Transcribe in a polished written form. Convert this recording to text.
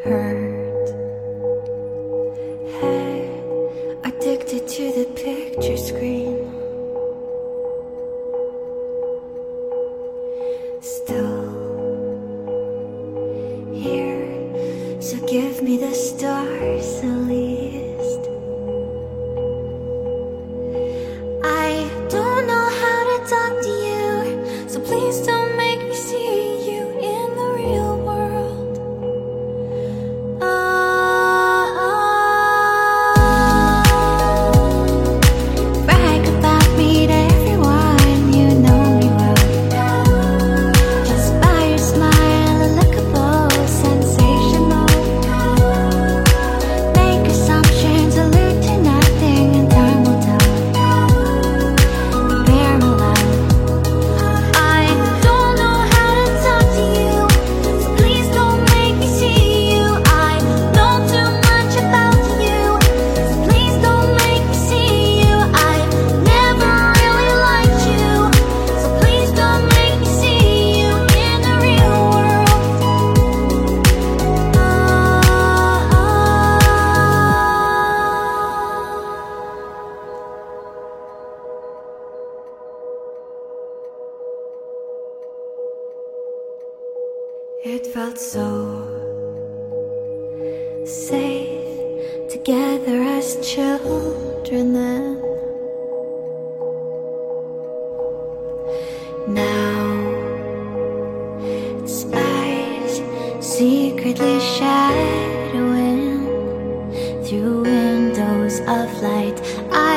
hurt. Hey, addicted to the picture screen. Still here, so give me the stars at least. I don't know how to talk to you, so please don't make me see you in the real world. Brag about me to everyone, you know me well. Just by your smile, unlookable, sensational. Make assumptions, allude to nothing, and time will tell. Bear me loud. I don't know how to talk to you, so please don't make me see you. I know too much about you, so please don't make me see you. I never really liked you, so please don't make me see you in the real world. It felt so safe together as children then. Now spies secretly shadowing through windows of light. I